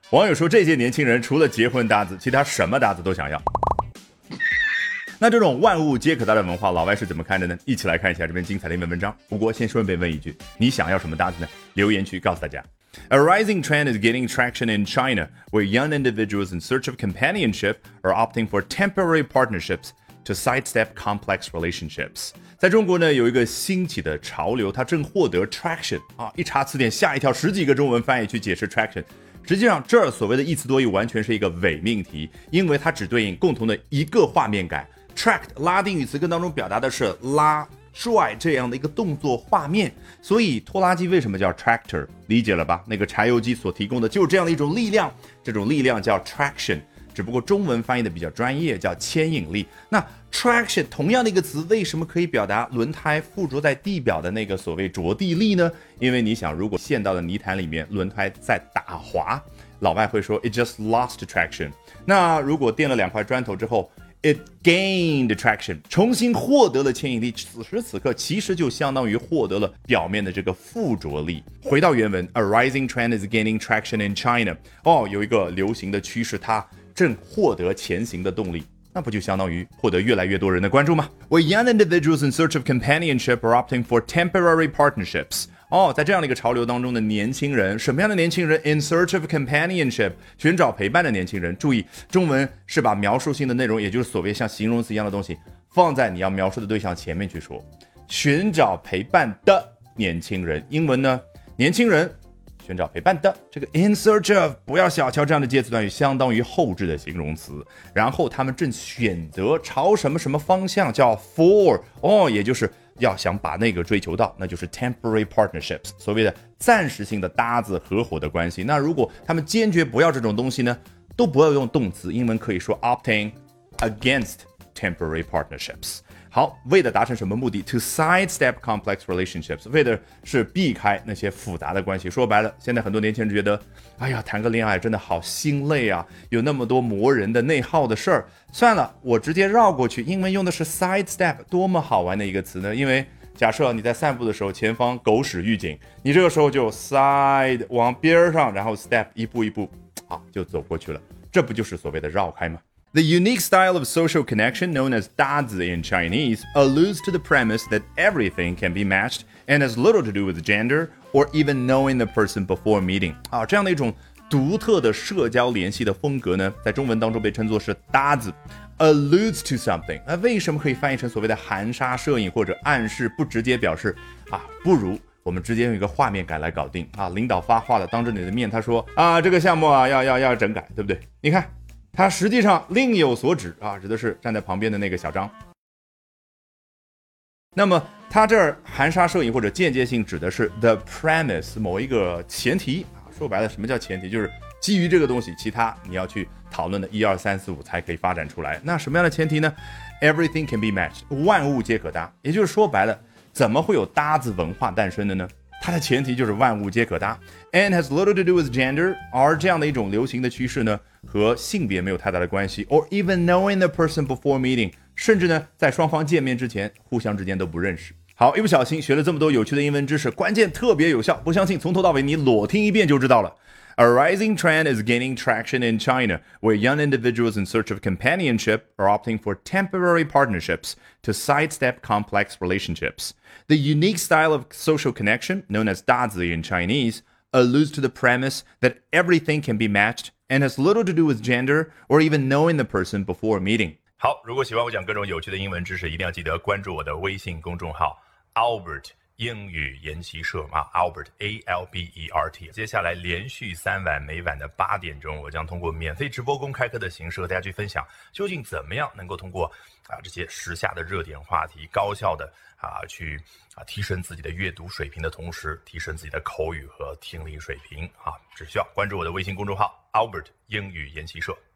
网友说，这些年轻人除了结婚搭子，其他什么搭子都想要。那这种万物皆可搭的文化，老外是怎么看的呢？一起来看一下这篇精彩的英文文章。不过先顺便问一句，你想要什么搭子呢？留言区告诉大家。A rising trend is gaining traction in China, where young individuals in search of companionship are opting for temporary partnerships to sidestep complex relationships. 在中国呢，有一个兴起的潮流，它正获得 traction 啊！一查词典吓一跳，10几个中文翻译去解释 traction。实际上，这儿所谓的一词多义完全是一个伪命题，因为它只对应共同的一个画面感。Tract 拉丁语词根当中表达的是拉、拽这样的一个动作画面，所以拖拉机为什么叫 tractor？ 理解了吧？那个柴油机所提供的就是这样的一种力量，这种力量叫 traction。只不过中文翻译的比较专业，叫牵引力。那 traction 同样的一个词，为什么可以表达轮胎附着在地表的那个所谓着地力呢？因为你想，如果陷到了泥潭里面，轮胎在打滑，老外会说 it just lost traction。那如果垫了2块砖头之后，it gained traction， 重新获得了牵引力，此时此刻其实就相当于获得了表面的这个附着力。回到原文 ，A rising trend is gaining traction in China。有一个流行的趋势，它正获得前行的动力。那不就相当于获得越来越多人的关注吗？ Where young individuals in search of companionship are opting for temporary partnerships。在这样的一个潮流当中的年轻人，什么样的年轻人 ？In search of companionship， 寻找陪伴的年轻人。注意，中文是把描述性的内容，也就是所谓像形容词一样的东西，放在你要描述的对象前面去说。寻找陪伴的年轻人，英文呢？年轻人寻找陪伴的这个 in search of， 不要小瞧这样的介词短语，相当于后置的形容词。然后他们正选择朝什么什么方向，叫 for， 也就是要想把那个追求到，那就是 temporary partnerships， 所谓的暂时性的搭子合伙的关系。那如果他们坚决不要这种东西呢，都不要用动词，英文可以说 opting against temporary partnerships。好，为了达成什么目的 ？To sidestep complex relationships， 为的是避开那些复杂的关系。说白了，现在很多年轻人觉得，哎呀，谈个恋爱真的好心累啊，有那么多磨人的内耗的事儿。算了，我直接绕过去。英文用的是 sidestep， 多么好玩的一个词呢？因为假设你在散步的时候，前方狗屎预警，你这个时候就 side 往边上，然后 step 一步一步，就走过去了。这不就是所谓的绕开吗？The unique style of social connection known as 搭子 in Chinese alludes to the premise that everything can be matched and has little to do with gender or even knowing the person before meeting。这样的一种独特的社交联系的风格呢，在中文当中被称作是搭子。alludes to something， 为什么可以翻译成所谓的含沙射影或者暗示，不直接表示不如我们直接用一个画面感来搞定领导发话了，当着你的面他说这个项目要整改，对不对？你看。他实际上另有所指指的是站在旁边的那个小张。那么他这儿含沙射影或者间接性指的是 the premise， 某一个前提说白了什么叫前提，就是基于这个东西，其他你要去讨论的1、2、3、4、5才可以发展出来。那什么样的前提呢？ Everything can be matched， 万物皆可搭。也就是说白了，怎么会有搭子文化诞生的呢？它的前提就是万物皆可搭 and has little to do with gender， 而这样的一种流行的趋势呢，和性别没有太大的关系 or even knowing the person before meeting， 甚至呢，在双方见面之前，互相之间都不认识。好，一不小心学了这么多有趣的英文知识，关键特别有效，不相信从头到尾你裸听一遍就知道了。A rising trend is gaining traction in China, where young individuals in search of companionship are opting for temporary partnerships to sidestep complex relationships. The unique style of social connection, known as 搭子 in Chinese, alludes to the premise that everything can be matched and has little to do with gender or even knowing the person before meeting. 好，如果喜欢我讲各种有趣的英文知识，一定要记得关注我的微信公众号 Albert英语研习社Albert ALBERT。 接下来连续3晚，每晚的8点钟，我将通过免费直播公开课的形式和大家去分享，究竟怎么样能够通过这些时下的热点话题，高效的去提升自己的阅读水平的同时，提升自己的口语和听力水平只需要关注我的微信公众号 Albert 英语研习社。